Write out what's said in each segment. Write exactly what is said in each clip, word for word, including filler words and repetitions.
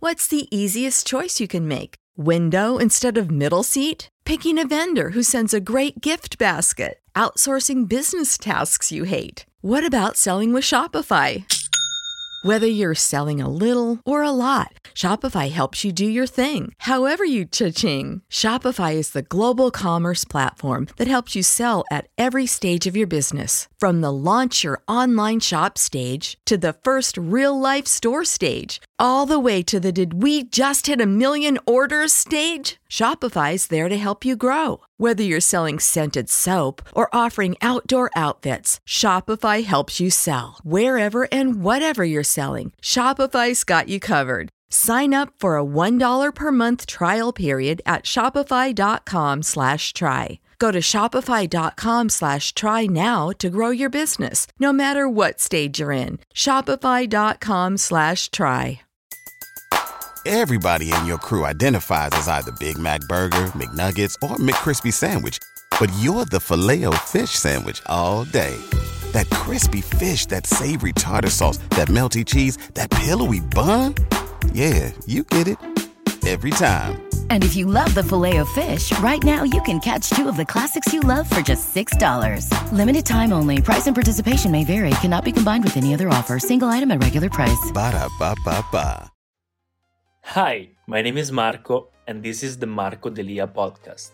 What's the easiest choice you can make? Window instead of middle seat? Picking a vendor who sends a great gift basket? Outsourcing business tasks you hate? What about selling with Shopify? Whether you're selling a little or a lot, Shopify helps you do your thing, however you cha-ching. Shopify is the global commerce platform that helps you sell at every stage of your business. From the launch your online shop stage to the first real-life store stage, all the way to the did we just hit a million orders stage. Shopify's there to help you grow. Whether you're selling scented soap or offering outdoor outfits, Shopify helps you sell. Wherever and whatever you're selling, Shopify's got you covered. Sign up for a one dollar per month trial period at shopify.com slash try. Go to shopify.com slash try now to grow your business, no matter what stage you're in. Shopify.com slash try. Everybody in your crew identifies as either Big Mac Burger, McNuggets, or McCrispy Sandwich. But you're the Filet-O-Fish Sandwich all day. That crispy fish, that savory tartar sauce, that melty cheese, that pillowy bun. Yeah, you get it. Every time. And if you love the Filet-O-Fish, right now you can catch two of the classics you love for just six dollars. Limited time only. Price and participation may vary. Cannot be combined with any other offer. Single item at regular price. Ba-da-ba-ba-ba. Hi, my name is Marco, and this is the Marco Delia podcast.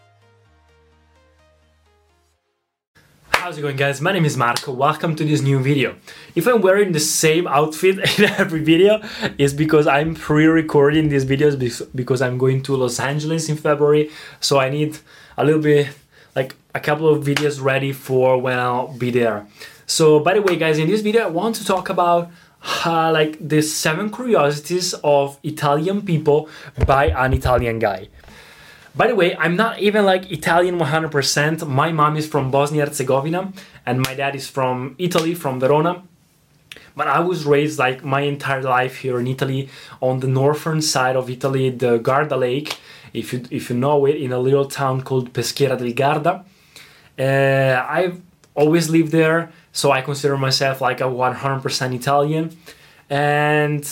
How's it going, guys? My name is Marco. Welcome to this new video. If I'm wearing the same outfit in every video, it's because I'm pre-recording these videos because I'm going to Los Angeles in February, so I need a little bit, like a couple of videos ready for when I'll be there. So, by the way, guys, in this video I want to talk about Uh, like the seven curiosities of Italian people by an Italian guy. By the way, I'm not even like Italian one hundred percent. My mom is from Bosnia Herzegovina and my dad is from Italy, from Verona. But I was raised like my entire life here in Italy, on the northern side of Italy, the Garda Lake, if you if you know it, in a little town called Peschiera del Garda. Uh, I've always lived there. So I consider myself like a one hundred percent Italian. And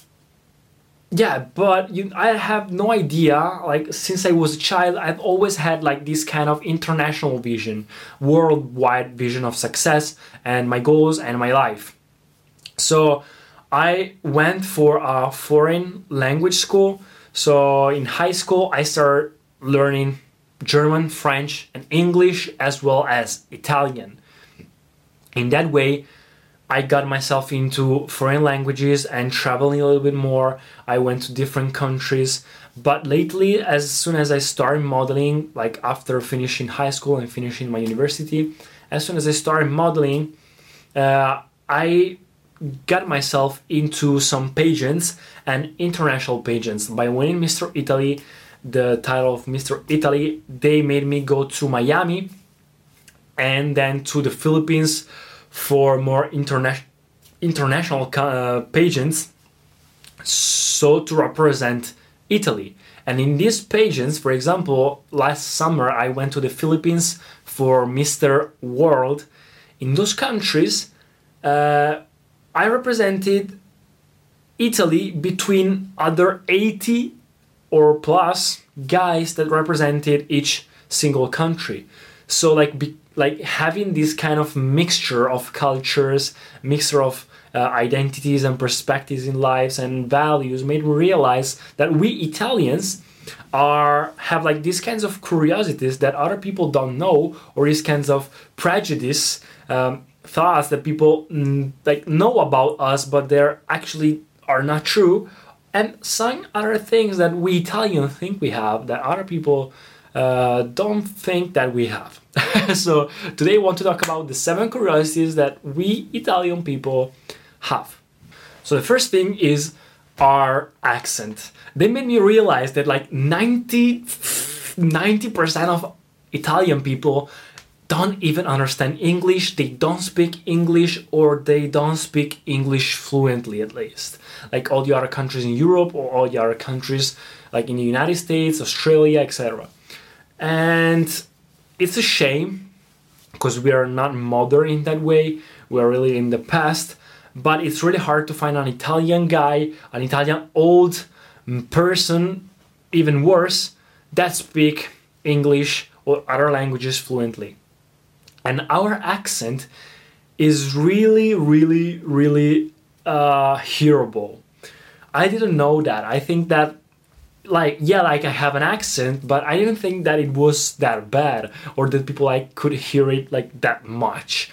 yeah, but you, I have no idea, like since I was a child, I've always had like this kind of international vision, worldwide vision of success and my goals and my life. So I went for a foreign language school. So in high school, I started learning German, French, and English, as well as Italian. In that way, I got myself into foreign languages and traveling a little bit more. I went to different countries. But lately, as soon as I started modeling, like after finishing high school and finishing my university, as soon as I started modeling, uh, I got myself into some pageants and international pageants. By winning Mister Italy, the title of Mister Italy, they made me go to Miami and then to the Philippines for more interna- international uh, pageants, so to represent Italy. And in these pageants, for example, last summer I went to the Philippines for Mister World. In those countries, uh, I represented Italy between other eighty or plus guys that represented each single country. So like be- like having this kind of mixture of cultures, mixture of uh, identities and perspectives in lives and values made me realize that we Italians are have like these kinds of curiosities that other people don't know, or these kinds of prejudice um, thoughts that people mm, like know about us, but they're actually are not true, and some other things that we Italians think we have that other people uh, don't think that we have. So today I want to talk about the seven curiosities that we Italian people have. So the first thing is our accent. They made me realize that like ninety, ninety percent of Italian people don't even understand English, they don't speak English, or they don't speak English fluently at least. Like all the other countries in Europe or all the other countries like in the United States, Australia, et cetera. And it's a shame because we are not modern in that way. We are really in the past. But it's really hard to find an Italian guy, an Italian old person, even worse, that speak English or other languages fluently. And our accent is really, really, really uh, hearable. I didn't know that. I think that, like, yeah, like I have an accent, but I didn't think that it was that bad or that people like could hear it like that much.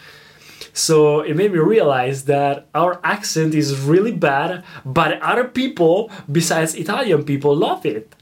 So it made me realize that our accent is really bad, but other people besides Italian people love it.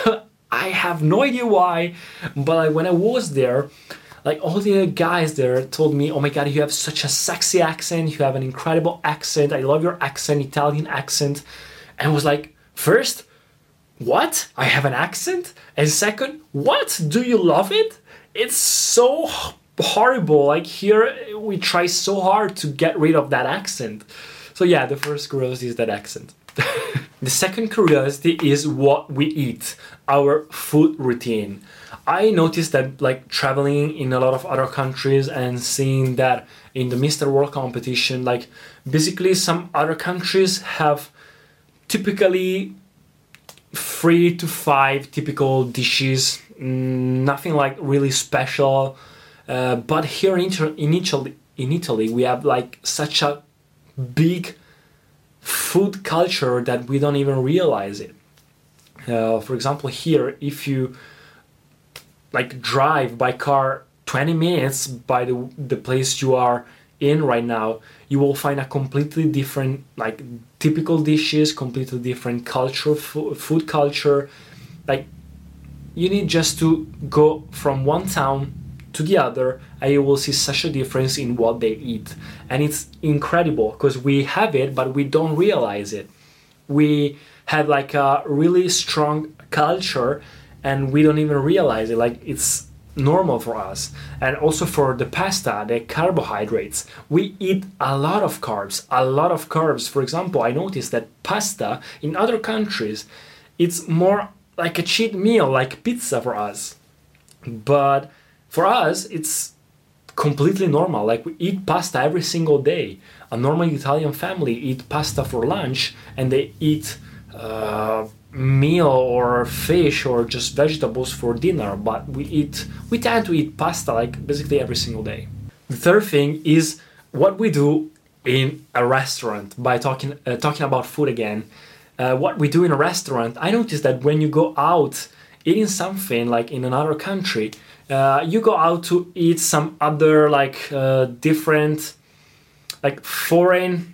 I have no idea why, but like when I was there, like all the guys there told me, oh my god, you have such a sexy accent, you have an incredible accent, I love your accent, Italian accent. And I was like, first, what? I have an accent? And second, what? Do you love it? It's so horrible. Like here, we try so hard to get rid of that accent. So yeah, the first curiosity is that accent. The second curiosity is what we eat, our food routine. I noticed that like traveling in a lot of other countries and seeing that in the Mister World competition, like basically some other countries have typically three to five typical dishes, nothing like really special. Uh, but here in, in, Italy, in Italy, we have like such a big food culture that we don't even realize it. Uh, for example, here, if you like drive by car twenty minutes by the the place you are in right now, you will find a completely different, like typical dishes, completely different culture, fo- food culture. Like you need just to go from one town to the other and you will see such a difference in what they eat. And it's incredible because we have it, but we don't realize it. We have like a really strong culture and we don't even realize it. Like it's normal for us. And also for the pasta, the carbohydrates, we eat a lot of carbs, a lot of carbs. For example, I noticed that pasta in other countries, it's more like a cheat meal, like pizza for us. But for us, it's completely normal. Like we eat pasta every single day. A normal Italian family eat pasta for lunch and they eat uh, meal or fish or just vegetables for dinner. But we eat, we tend to eat pasta like basically every single day. The third thing is what we do in a restaurant. By talking uh, talking about food again, uh, what we do in a restaurant. I noticed that when you go out eating something like in another country, Uh, you go out to eat some other like uh, different like foreign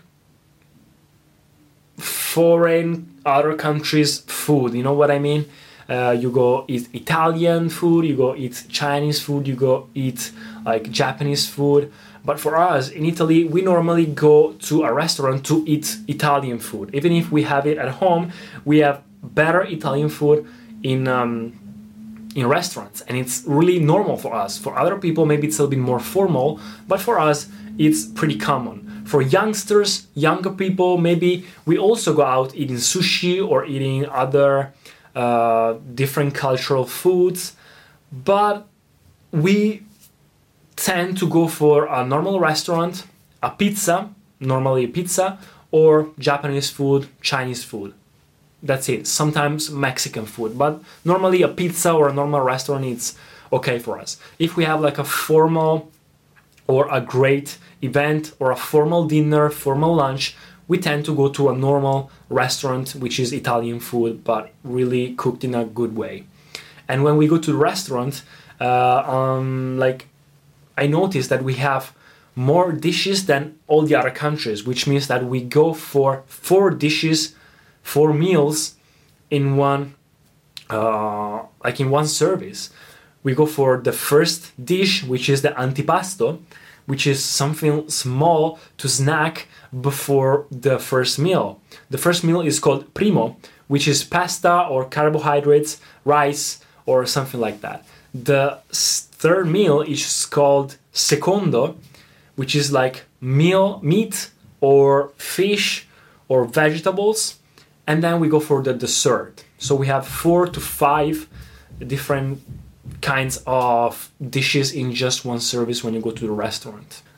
foreign other countries food, you know what I mean? Uh, you go eat Italian food, you go eat Chinese food, you go eat like Japanese food. But for us in Italy, we normally go to a restaurant to eat Italian food. Even if we have it at home, we have better Italian food in um, in restaurants, and it's really normal for us. For other people, maybe it's a little bit more formal, but for us, it's pretty common. For youngsters, younger people, maybe we also go out eating sushi or eating other uh, different cultural foods, but we tend to go for a normal restaurant, a pizza, normally a pizza, or Japanese food, Chinese food. That's it. Sometimes Mexican food, but normally a pizza or a normal restaurant is okay for us. If we have like a formal or a great event or a formal dinner, formal lunch, we tend to go to a normal restaurant, which is Italian food, but really cooked in a good way. And when we go to the restaurant, uh, um, like I noticed that we have more dishes than all the other countries, which means that we go for four dishes, four meals in one, uh, like in one service. We go for the first dish, which is the antipasto, which is something small to snack before the first meal. The first meal is called primo, which is pasta or carbohydrates, rice, or something like that. The third meal is called secondo, which is like meal, meat or fish or vegetables. And then we go for the dessert. So we have four to five different kinds of dishes in just one service when you go to the restaurant.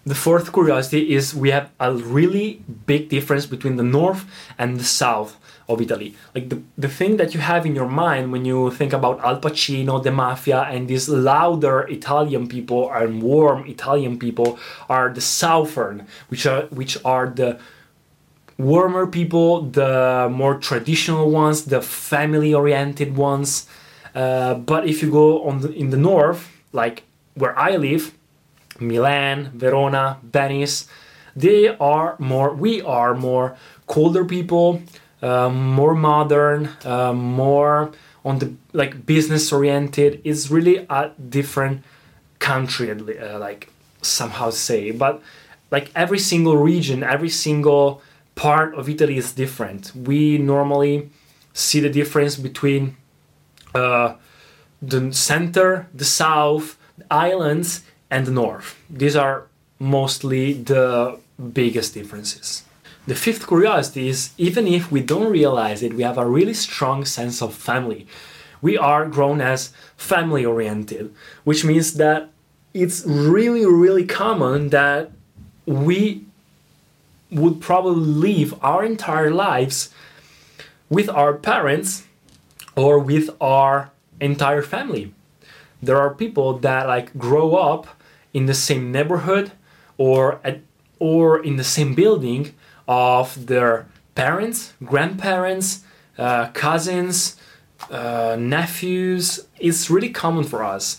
The fourth curiosity is we have a really big difference between the north and the south of Italy. Like the, the thing that you have in your mind when you think about Al Pacino, the mafia, and these louder Italian people and warm Italian people are the southern, which are which are the warmer people, the more traditional ones, the family-oriented ones. Uh, but if you go on the, in the north, like where I live, Milan, Verona, Venice, they are more, we are more colder people, uh, more modern, uh, more on the like business oriented. It's really a different country, uh, like somehow say, but like every single region, every single part of Italy is different. We normally see the difference between uh, the center, the south, the islands, and the north. These are mostly the biggest differences. The fifth curiosity is, even if we don't realize it, we have a really strong sense of family. We are grown as family oriented, which means that it's really, really common that we would probably live our entire lives with our parents or with our entire family. There are people that like grow up in the same neighborhood or at, or in the same building of their parents, grandparents, uh, cousins, uh, nephews. It's really common for us.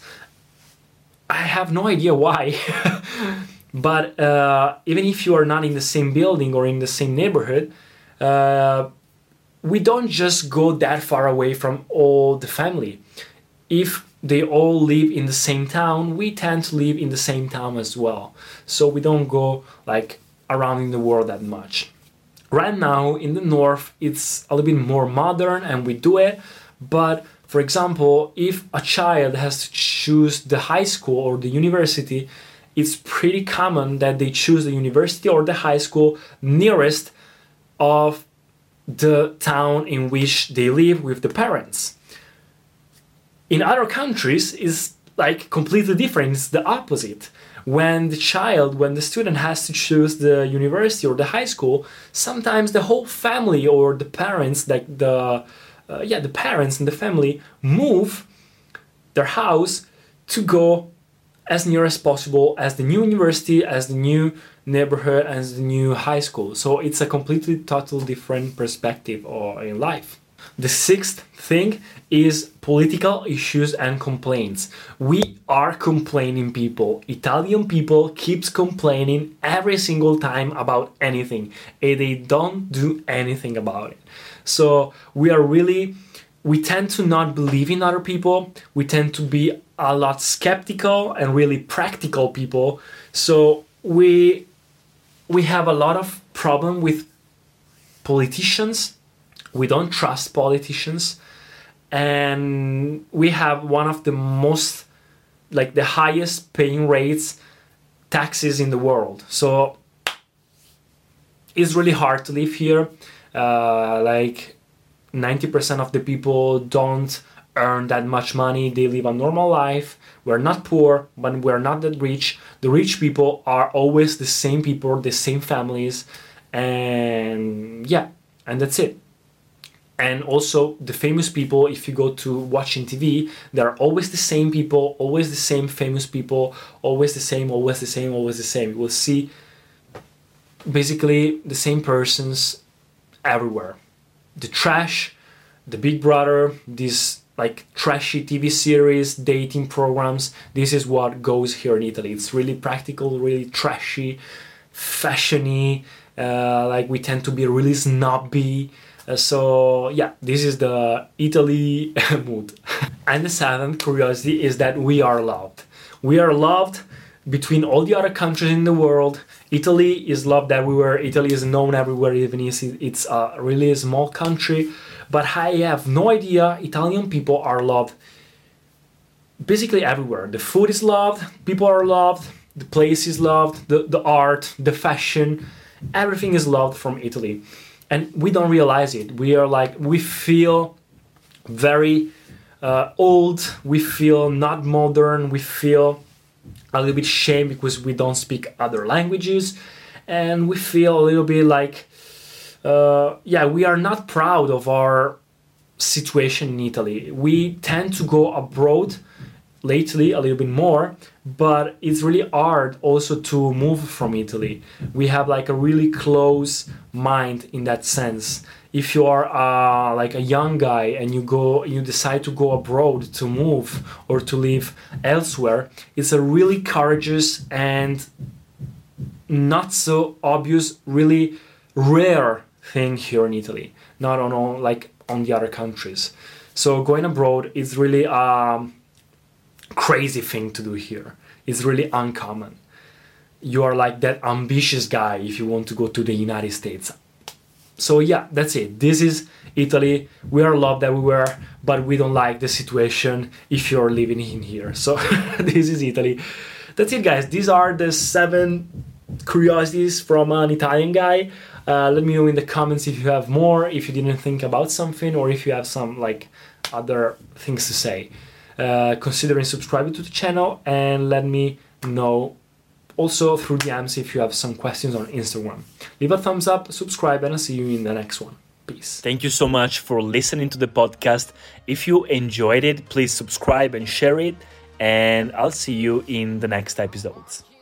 I have no idea why. But uh, even if you are not in the same building or in the same neighborhood, uh, we don't just go that far away from all the family. If they all live in the same town, we tend to live in the same town as well. So we don't go like around in the world that much. Right now in the north, it's a little bit more modern and we do it. But for example, if a child has to choose the high school or the university, it's pretty common that they choose the university or the high school nearest of the town in which they live with the parents. In other countries, it's like completely different. It's the opposite. When the child, when the student has to choose the university or the high school, sometimes the whole family or the parents, like the uh, yeah, the parents and the family move their house to go as near as possible as the new university, as the new neighborhood, as the new high school. So it's a completely, total different perspective in life. The sixth thing is political issues and complaints. We are complaining people. Italian people keeps complaining every single time about anything, and they don't do anything about it. So we are really, we tend to not believe in other people. We tend to be a lot skeptical and really practical people. So we we have a lot of problem with politicians. We don't trust politicians, and we have one of the most, like the highest paying rates taxes in the world. So it's really hard to live here. Uh, like ninety percent of the people don't earn that much money. They live a normal life. We're not poor, but we're not that rich. The rich people are always the same people, the same families, and yeah, and that's it. And also the famous people, if you go to watching T V, they're always the same people, always the same famous people, always the same, always the same, always the same. You will see basically the same persons everywhere. The trash, the Big Brother, these like trashy T V series, dating programs, this is what goes here in Italy. It's really practical, really trashy, fashiony, uh, like we tend to be really snobby. Uh, so yeah, this is the Italy mood. And the seventh curiosity is that we are loved. We are loved between all the other countries in the world. Italy is loved everywhere. Italy is known everywhere, even if it's a really small country. But I have no idea, Italian people are loved basically everywhere. The food is loved, people are loved, the place is loved, the, the art, the fashion, everything is loved from Italy. And we don't realize it. We are like, we feel very uh, old, we feel not modern, we feel a little bit shame because we don't speak other languages, and we feel a little bit like, uh, yeah, we are not proud of our situation in Italy. We tend to go abroad lately a little bit more, but it's really hard also to move from Italy. We have like a really close mind in that sense. If you are uh, like a young guy and you go, you decide to go abroad to move or to live elsewhere, it's a really courageous and not so obvious, really rare thing here in Italy, not on all, like on the other countries. So going abroad is really um crazy thing to do here. It's really uncommon. You are like that ambitious guy if you want to go to the United States. So yeah, that's it. This is Italy. We are loved everywhere, but we don't like the situation if you're living in here. So this is Italy. That's it, guys. These are the seven curiosities from an Italian guy. Uh, let me know in the comments if you have more, if you didn't think about something, or if you have some like other things to say. Uh, considering subscribing to the channel, and let me know also through D Ms if you have some questions on Instagram. Leave a thumbs up, subscribe, and I'll see you in the next one. Peace. Thank you so much for listening to the podcast. If you enjoyed it, please subscribe and share it, and I'll see you in the next episodes.